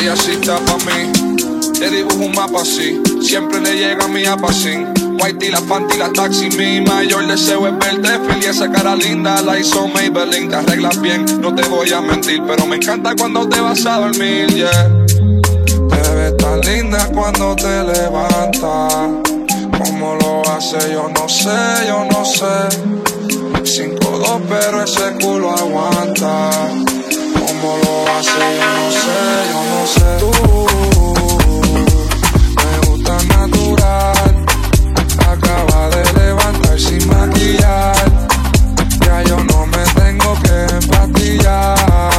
ella sí está pa' mí. Te dibujo un mapa así, siempre le llega a mi apacín. Whitey, la panty, la taxi, mi mayor deseo es verte feliz. Esa cara linda la hizo Maybelline. Te arreglas bien, no te voy a mentir, pero me encanta cuando te vas a dormir, yeah. Te ves tan linda cuando te levantas. Cómo lo hace, yo no sé, yo no sé. 5'2", pero ese culo aguanta. Cómo lo hace, yo no sé, yo no sé. Tú, me gusta natural. Acaba de levantar sin maquillar. Ya yo no me tengo que empastillar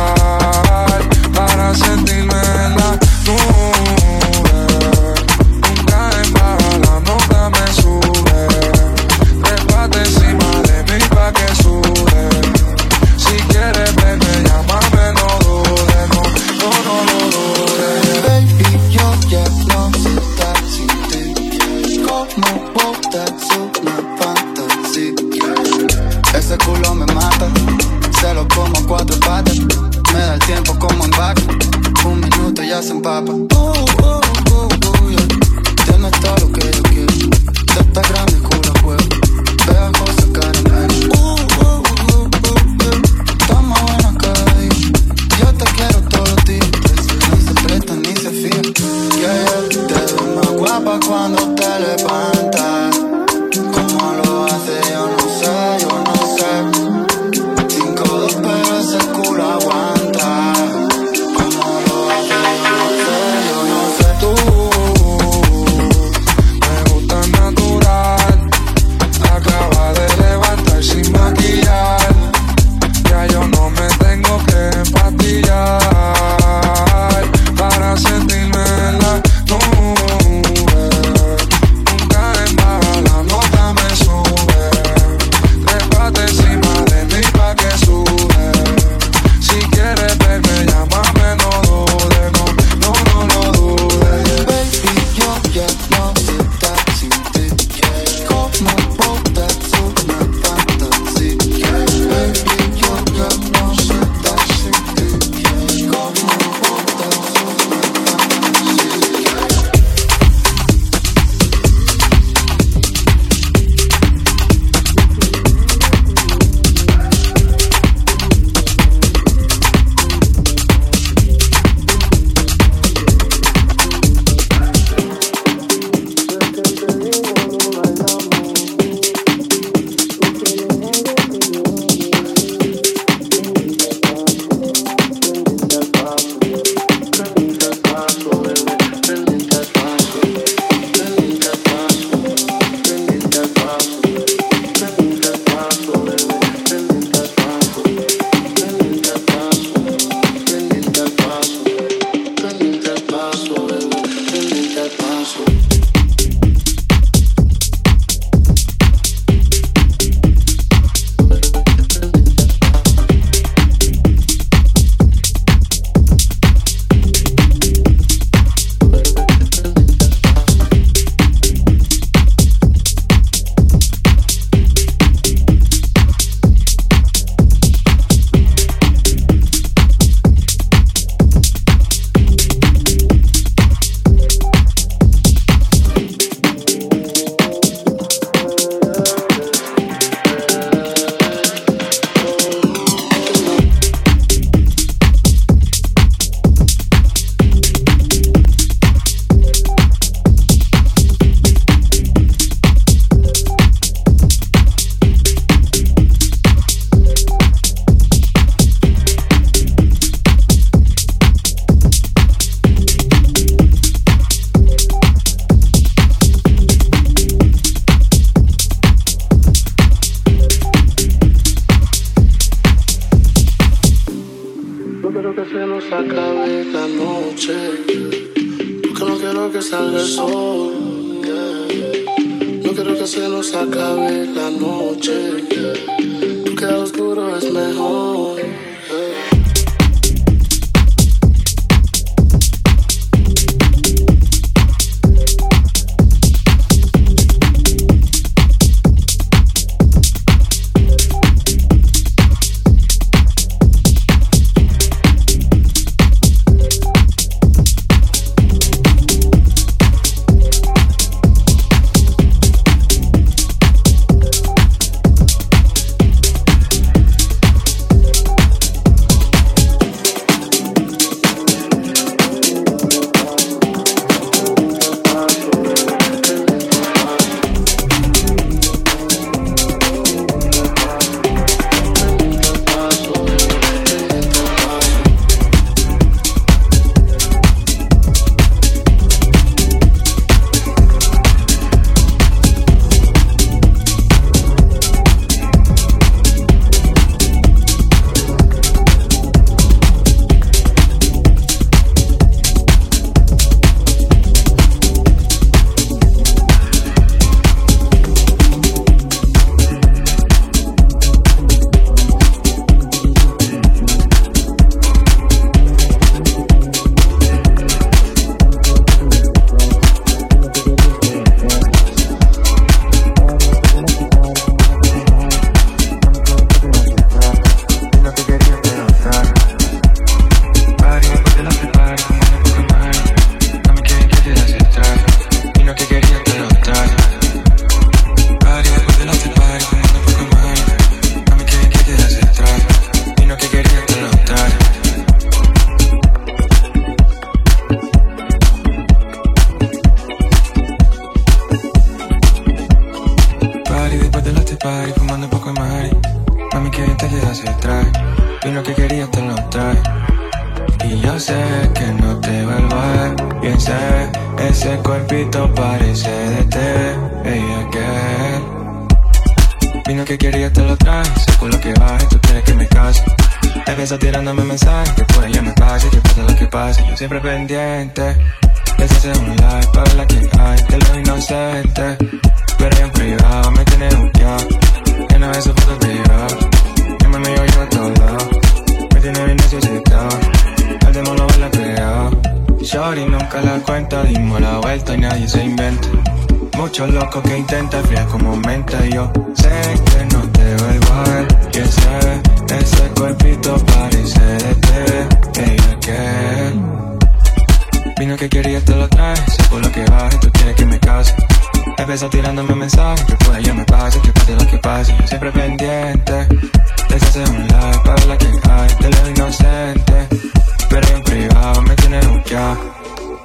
para sentirme en la nube. Nunca en baja la nota me sube. Trépate encima de mí pa' que sube. Si quieres verme, llámame, no dudes, no lo dudes. Baby, yo ya no sé estar sin ti. Como botas una fantasía. Ese culo me mata, se lo como a 4 patas. Me da el tiempo como en vaca, 1 minuto ya se empapa. Yeah. Tienes todo lo que yo quiero, de esta grande culo juego. Pegajosa caramelo. Está más buena cada día. Yo te quiero todos los días. Ni se presta ni se fía. Yeah. Te ves más guapa cuando te levantas. Cómo lo hace yo no sé, yo no sé. 5'2", pero ese culo aguanta. Cómo lo hace yo no sé, yo no sé. Tú, me gusta natural. Acaba de levantar sin maquillar. Ya yo no me tengo que empastillar para sentirme en la nube. Nunca en baja la nota me sube. Trépate encima de mí pa' que sube. Si quieres verme, llámame, no dudes, no dudes. Baby, yo ya no sé estar sin ti. Como botas una fantasía. Baby, yo ya no sé estar sin ti. Como botas una fantasía. Vino que quería te lo trae. Y yo sé que no te vuelvo a ver. Bien sé, ese cuerpito parece de té. Ella que vino que quería te lo trae. Sé por lo que baje, tú quieres que me case. Empieza tirándome mensajes, que por ella me pase, que pase lo que pase. Yo siempre pendiente. Les hace un like para la que hay de lo inocente. Pero en privado me tiene buqueado. Que no ve su foto privado. Que me yo a todos lados. Me tiene bien necesitado. El demo lo baila pegado. Shorty nunca la cuenta. Dimos la vuelta y nadie se inventa. Muchos locos que intentan fría como menta. Y yo sé que no te vuelvo a ver. Y ese cuerpito parece de té. Ella que vino que quería te lo trae. Sé por lo que baje, tú quieres que me case. Empieza tirándome mensajes, que por ella me pase, que pase lo que pase. Yo siempre pendiente. Les hace un like para la que hay de lo inocente. Pero en privado me tiene buqueado.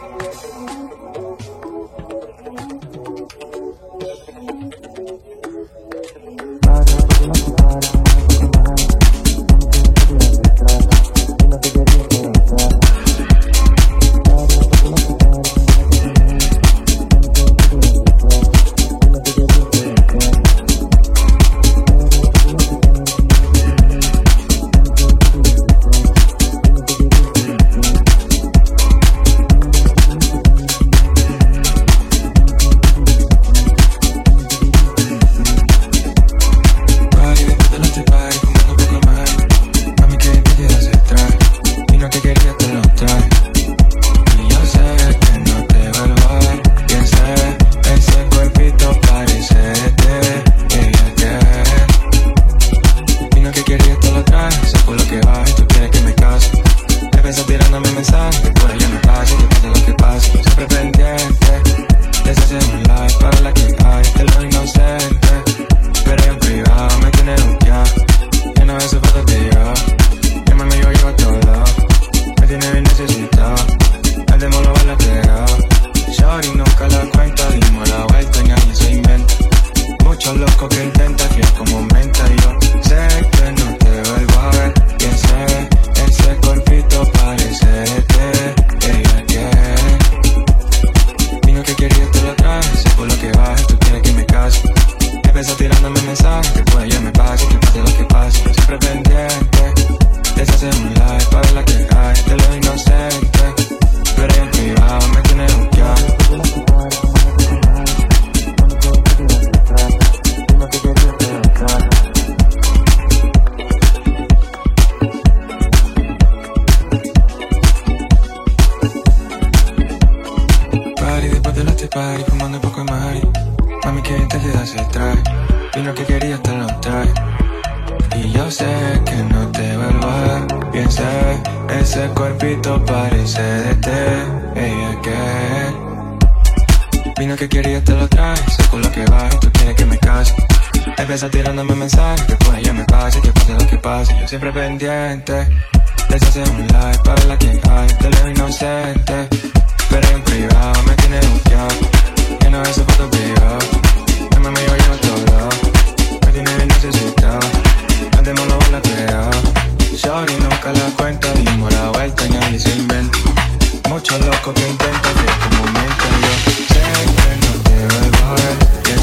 Tirándome mensajes, que por ella me pase, que pase lo que pase. Yo siempre pendiente. Les hace un like para la que hay de lo inocente. Pero en privado me tiene buqueado. Que no ve su foto privado. Que me yo a todos lados. Me tiene bien necesitado. El demo lo baila pegado. Shorty nunca la cuenta. Dimos la vuelta y nadie se inventa. Muchos locos que intentan que como menta. Yo sé que no te vuelvo a ver. Que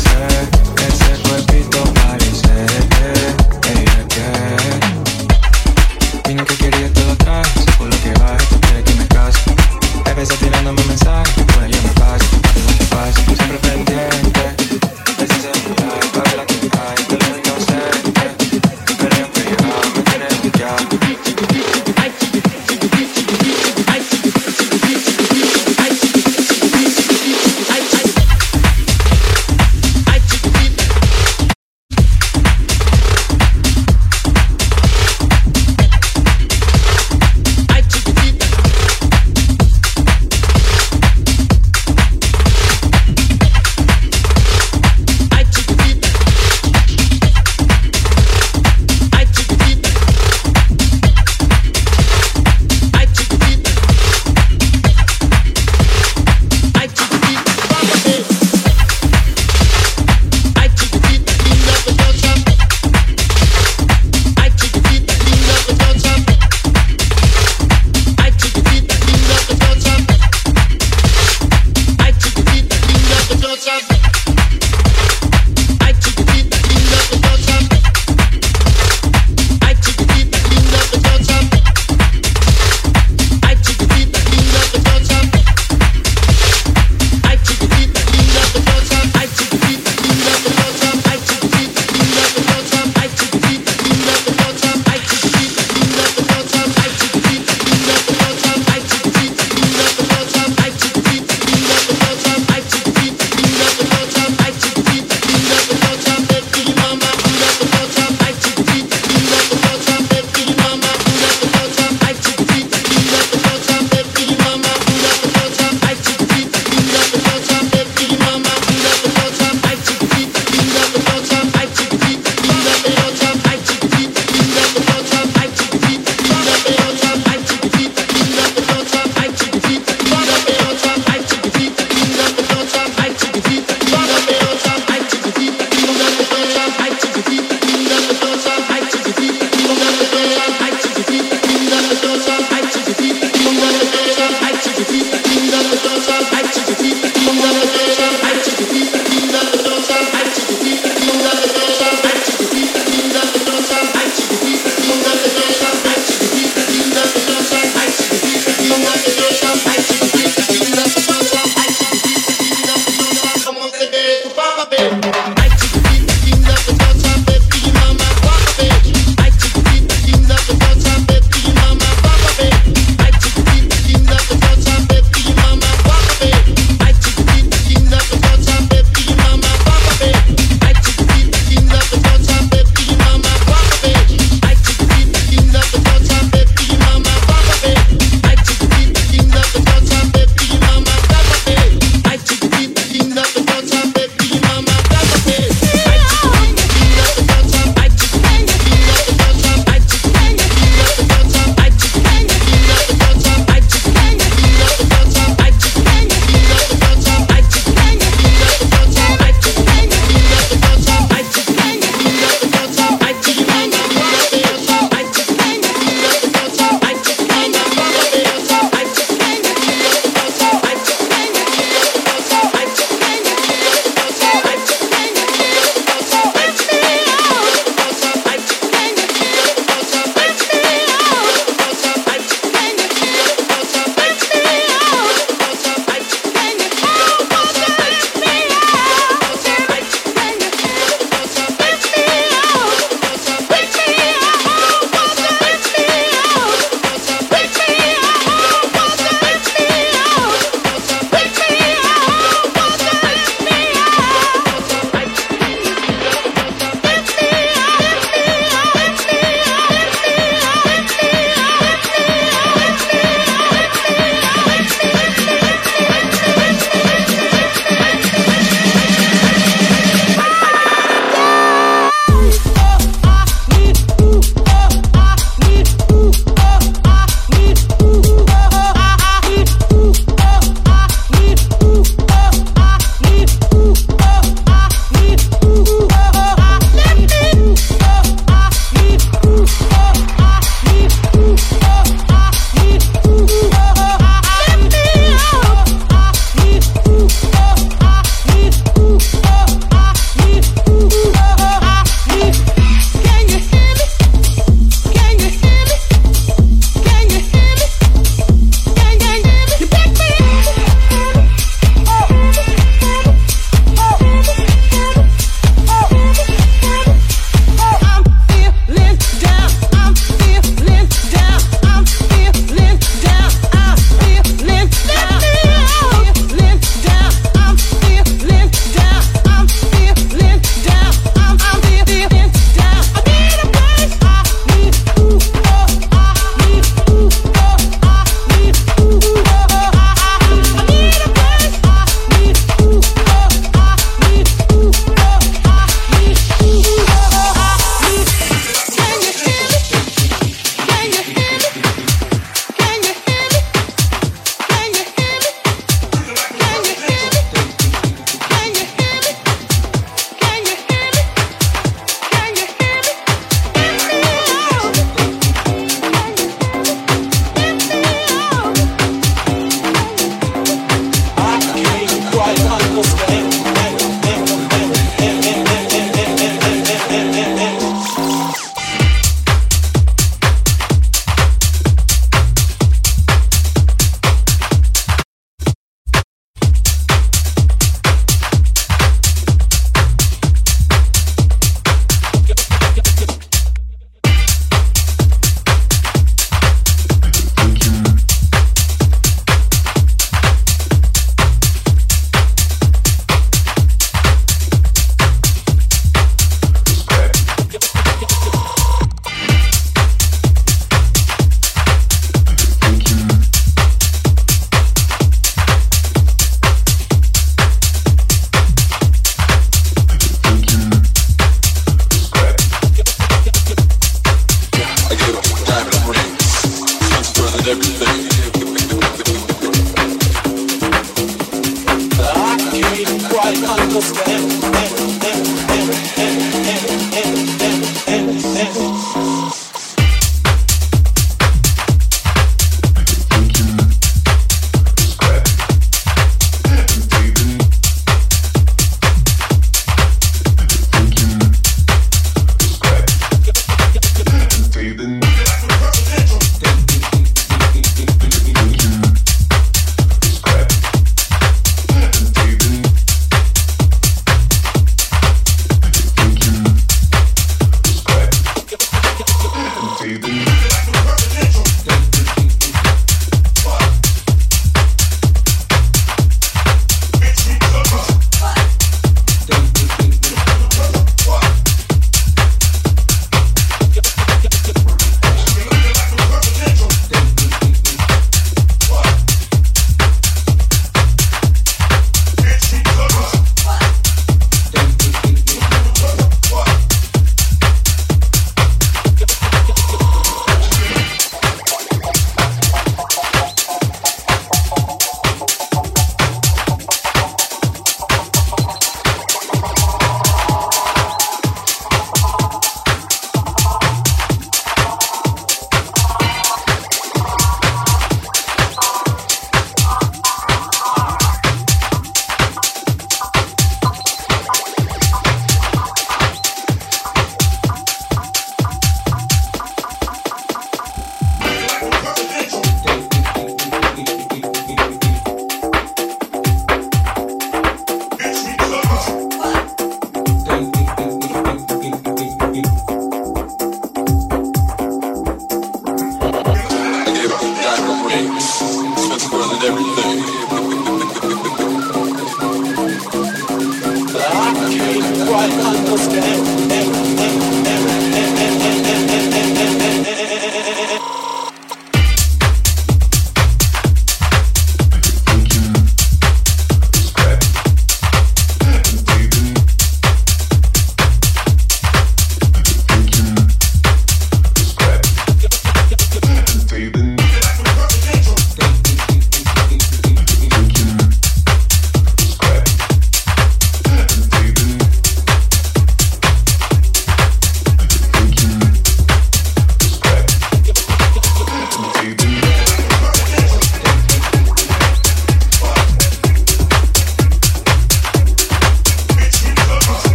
ese cuerpito parece de té. Ella que vino que quería te lo trae. Sé por lo que baje, tú quieres que me case. Empieza tirándome mensajes, que por ella me pase, que pase lo que pase. Yo siempre pendiente. Les hace un like para la que hay de lo inocente. Pero en privado me tiene buqueado.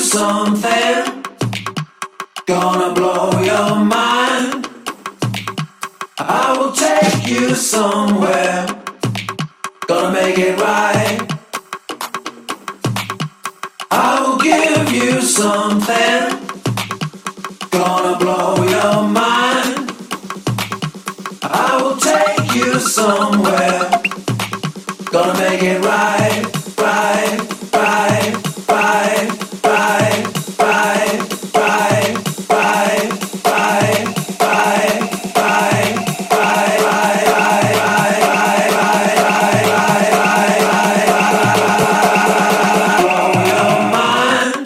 something, gonna blow your mind. I will take you somewhere, gonna make it right. I will give you something, gonna blow your mind. I will take you somewhere, gonna make it right, right, right, right, right, right, right, right, right, right, right, blow your mind.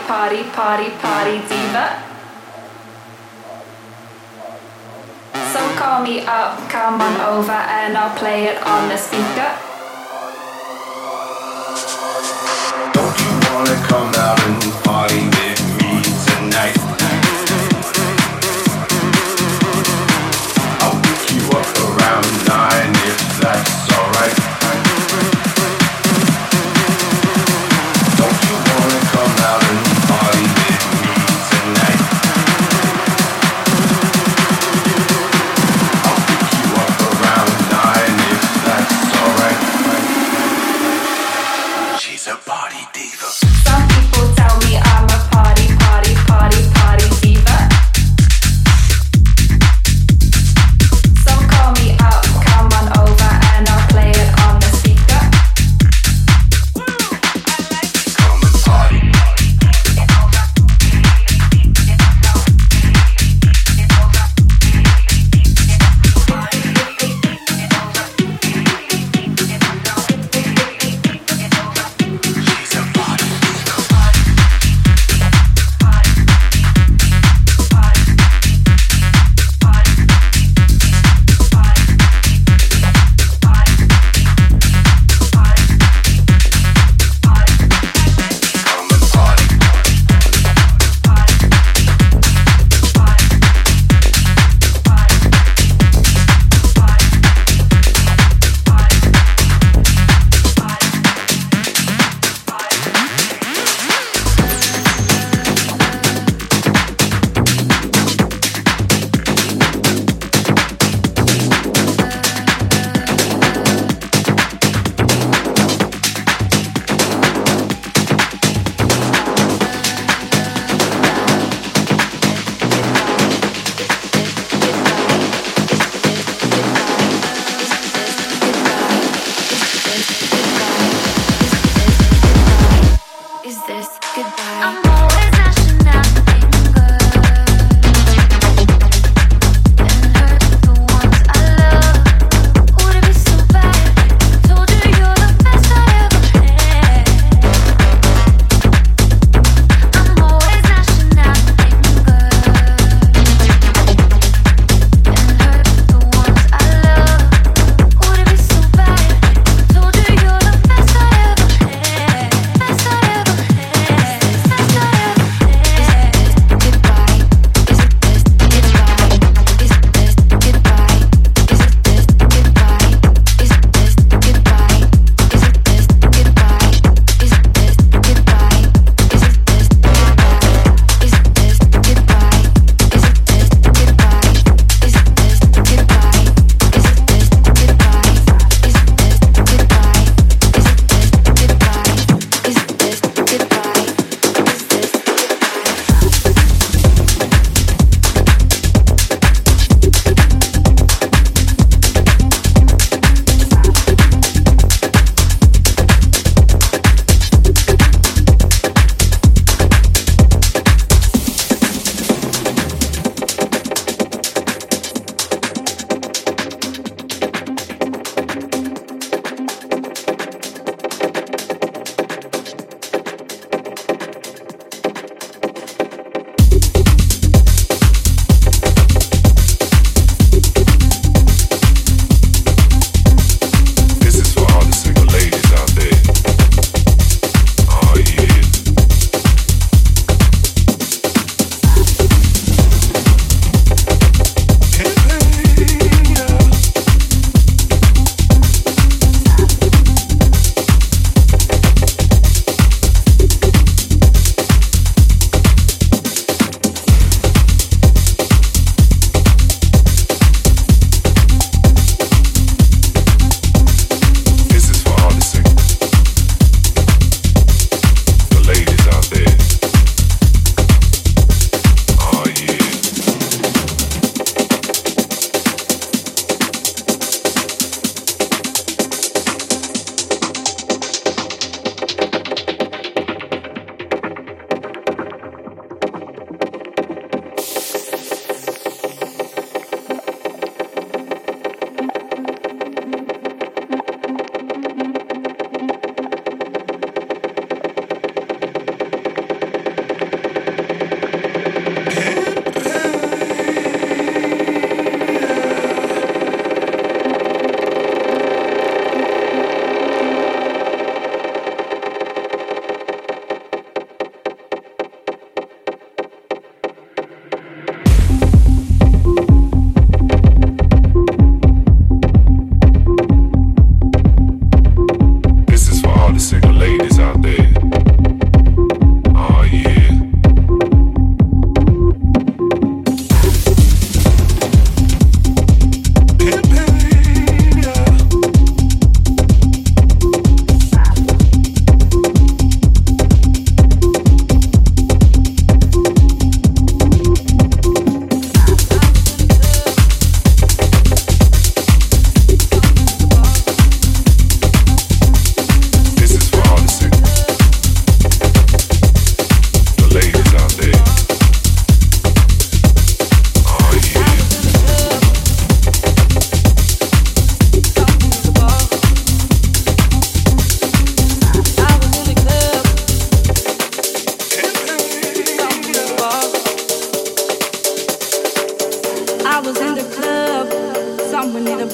party, party, party diva. So call me up, come on over and I'll play it on the speaker. Don't you wanna come out and party with me tonight? I'll pick you up around 9 if that's alright. Don't you wanna come out and party with me tonight? I'll pick you up around 9 if that's alright. She's a party diva. Some people tell me I'm a party, party, party, party diva. So call me up, come on over and I'll play it on the speaker. Come and party. She's a party come and party. Is this goodbye? I'm always lashing out anger and hurt the ones I love. Would it be so bad? Told you you're the best I ever had. I'm always lashing out anger and hurt the ones I love. Would it be so bad? Told you you're the best I ever had. Best I ever had. Best I ever had.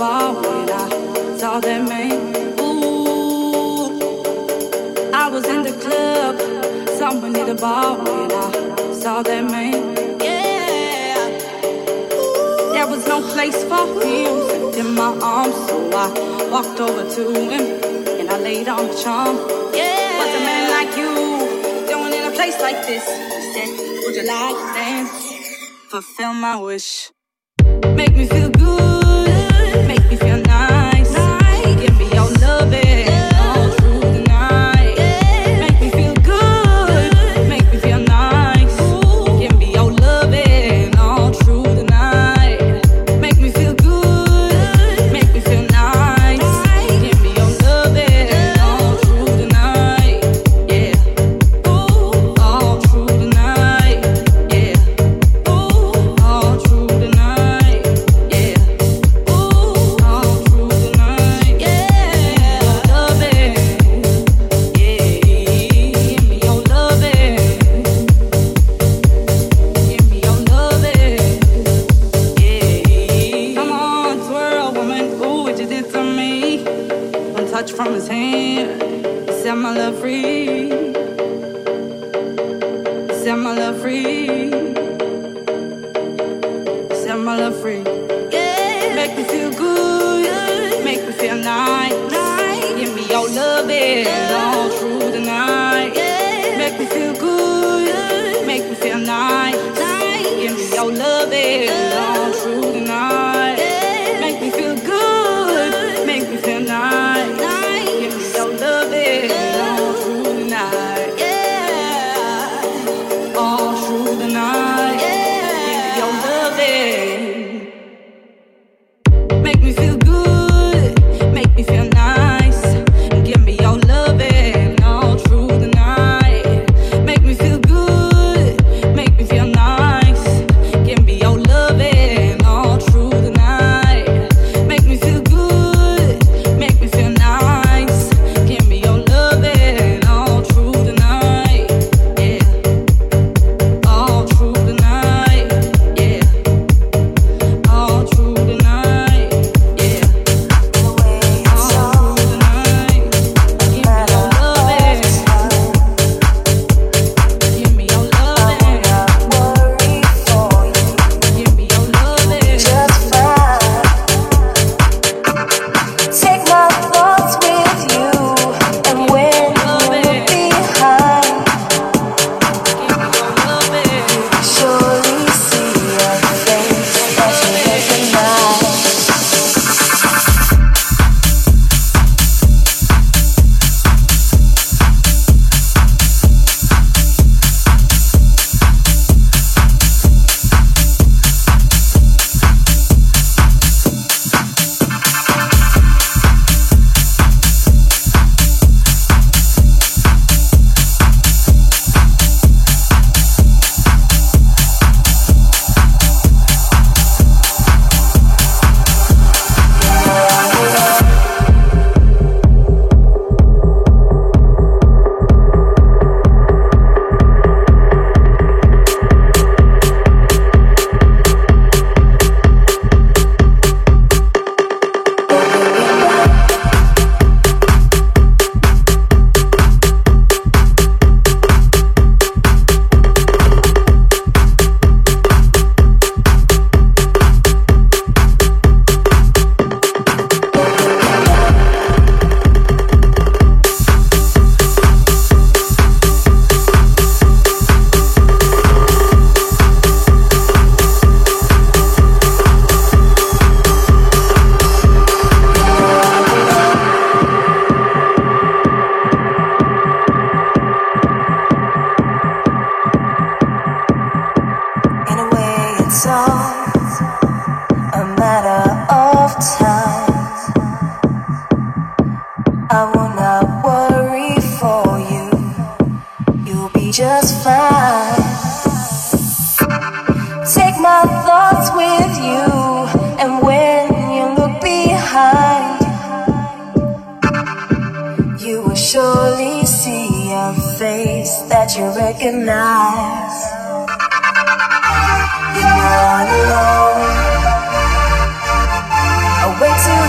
bar when I saw that man. Ooh, I was in the club, someone in the bar when I saw that man. Yeah, there was no place for him in my arms, so I walked over to him and I laid on the charm. Yeah, what's a man like you doing in a place like this? He said, would you like to dance? Fulfill my wish. Make me feel good, make me feel nice. Give me your loving all through the night. Make me feel good, make me feel nice. Give me your loving all through the night. Make me feel good, make me feel nice. Give me your loving all through the night. Yeah, all through the night. Yeah, all through the night. Yeah. From his hand, he set my love free. He set my love free. He set my love free. Yeah, make me feel good, make me feel nice. Give me your loving all through the night. Make me feel good, make me feel nice. Give me your loving all through the night. Make me feel good, make me feel nice. Give me your loving all through the night. Yeah, all through the night. Give me your loving. Make me feel good, make me feel nice. Give me your loving all through the night. Make me feel good, make me feel nice. Give me your loving all through the night. Make me feel good, make me feel nice. Give me your loving all through the night. Yeah, all through the night. Yeah, all through the night. Yeah, all through the night. Give me your loving. Give me your loving. Give me your loving. Take my thoughts with you, and when you look behind, surely see a face that you recognize. In a way, it's all a matter of time. I will not worry for you. You'll be just fine. Take my thoughts with you, and when you look behind, you will surely see a face that you recognize. You're not alone. Away to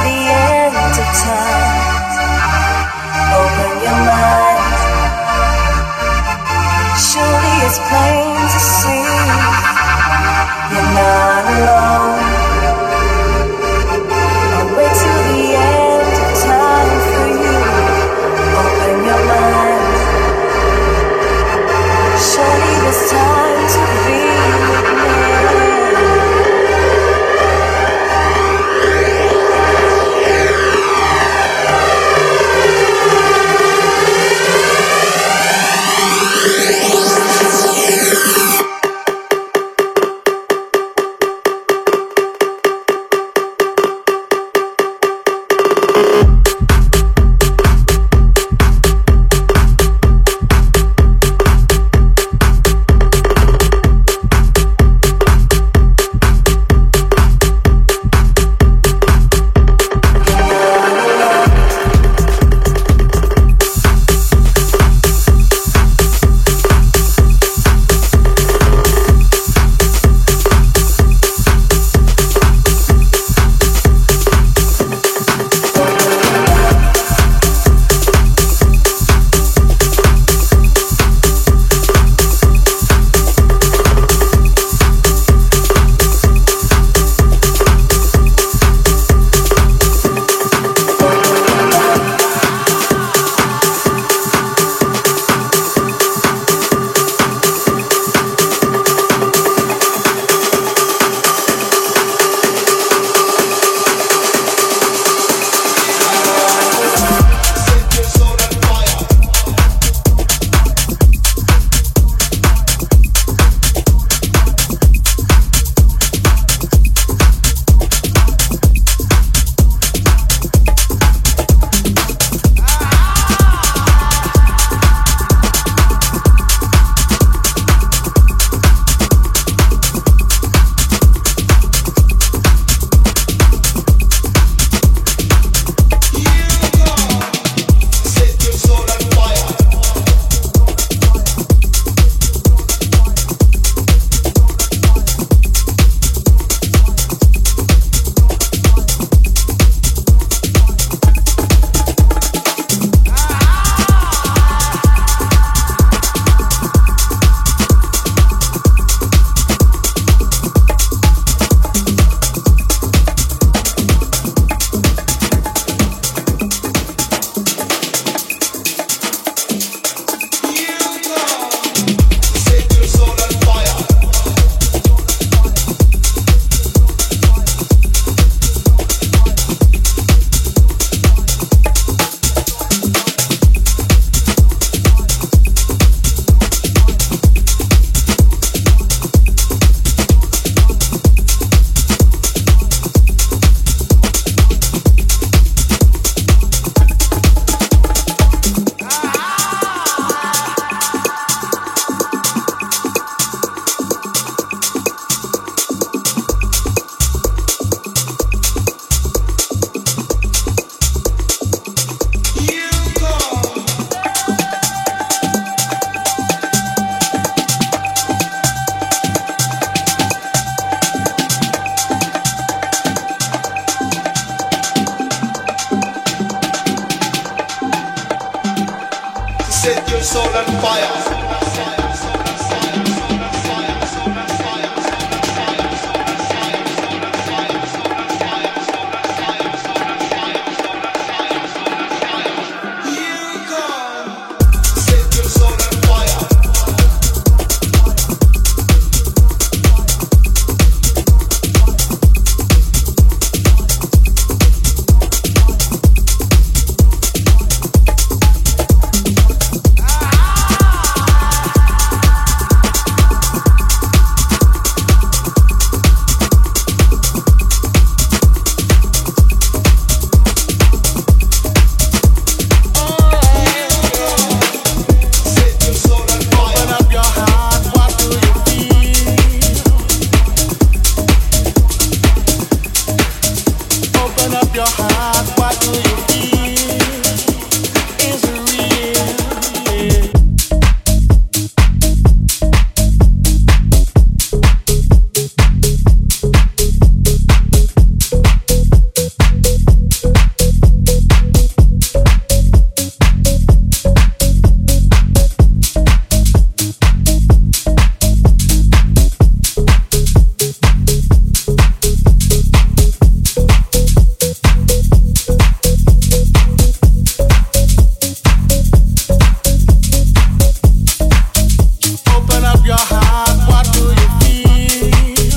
heart, what do you feel?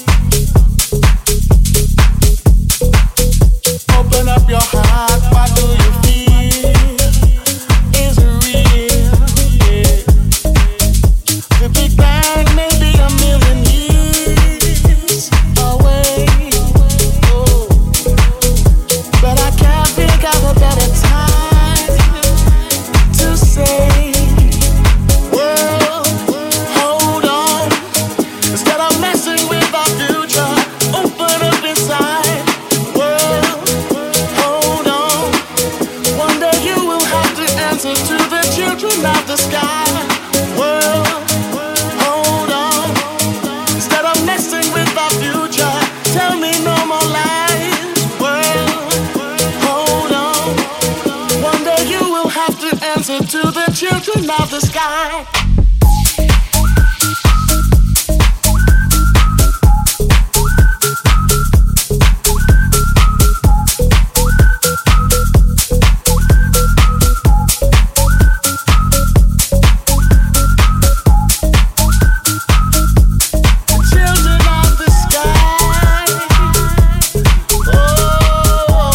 Open up your heart, what do you feel? Is it real? Yeah. The Big Bang may be a million years away, oh, but I can't think of a better time to say, world, hold on. Instead of messing with our future, open up inside. World, hold on. One day you will have to answer to the children of the sky. World, hold on. Instead of messing with our future, tell me no more lies. World, hold on. One day you will have to answer to the children of the sky. Children of the sky. Oh,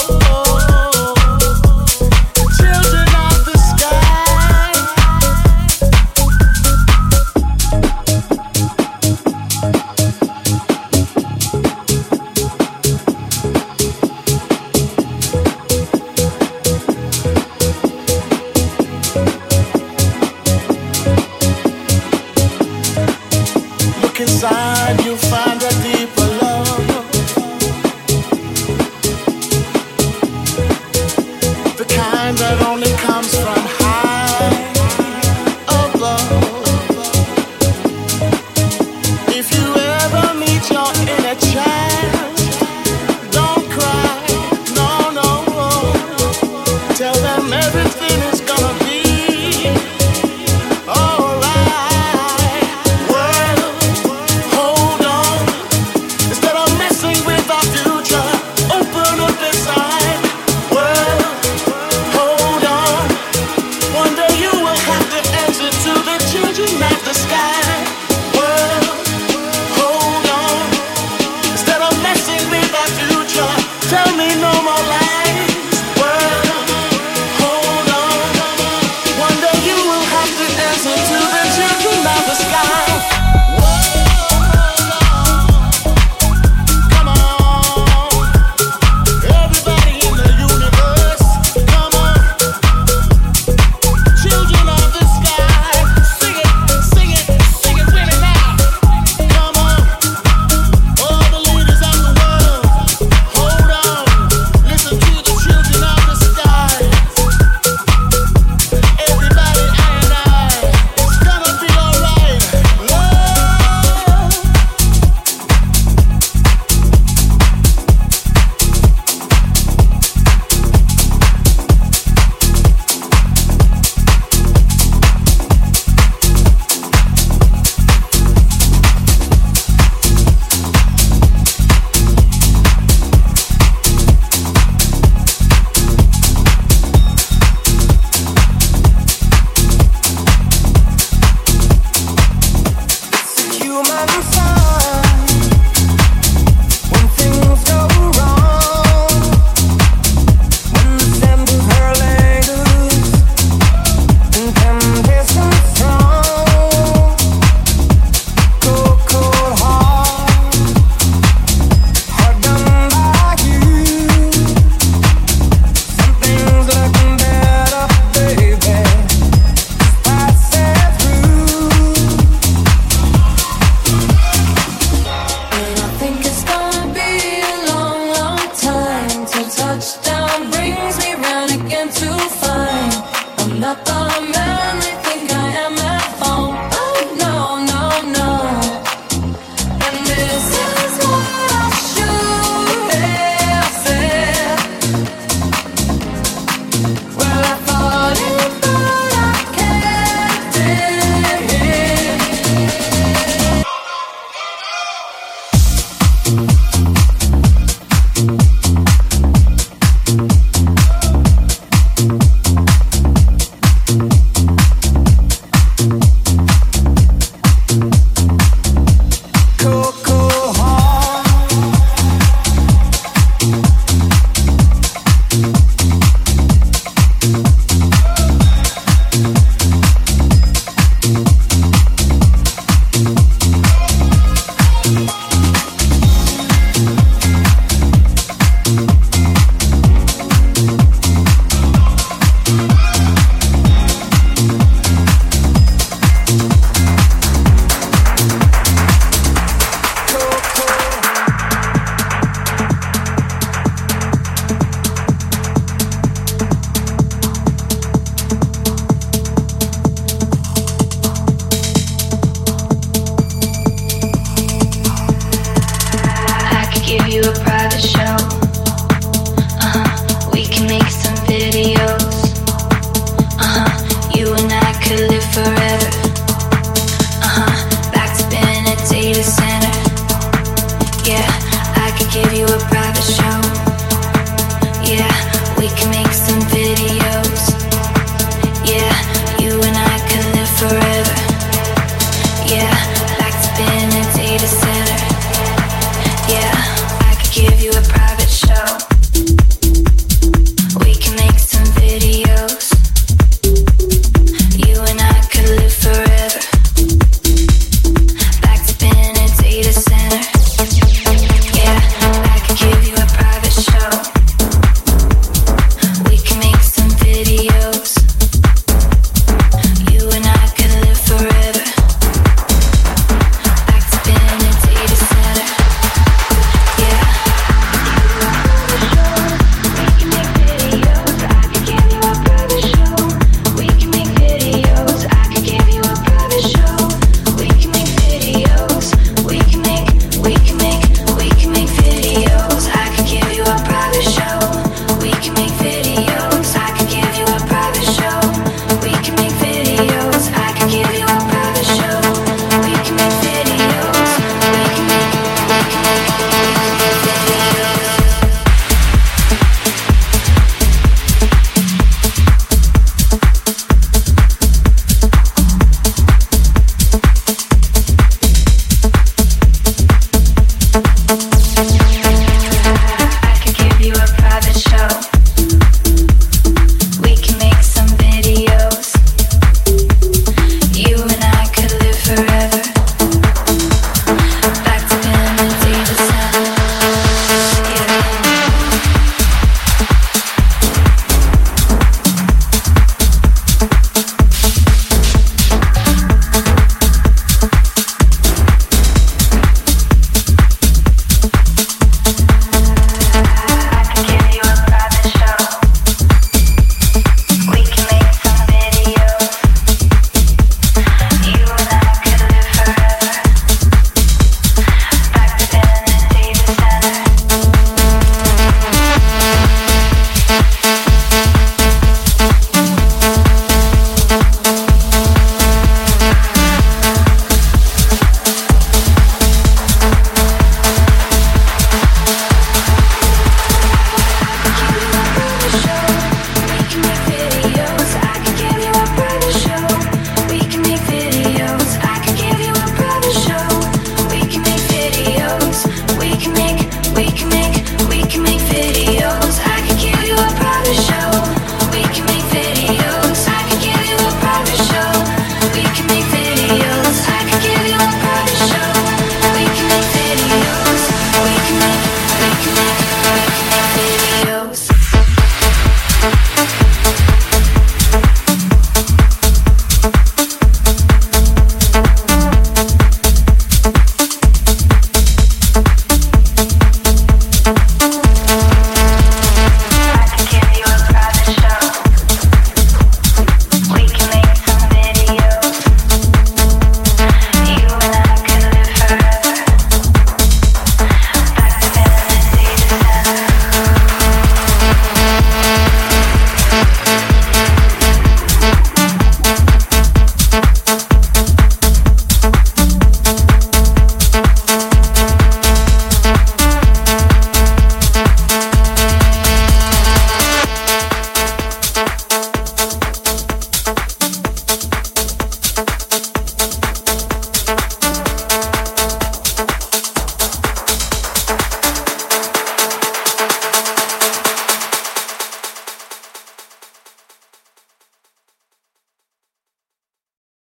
children of the sky. Look inside, you'll find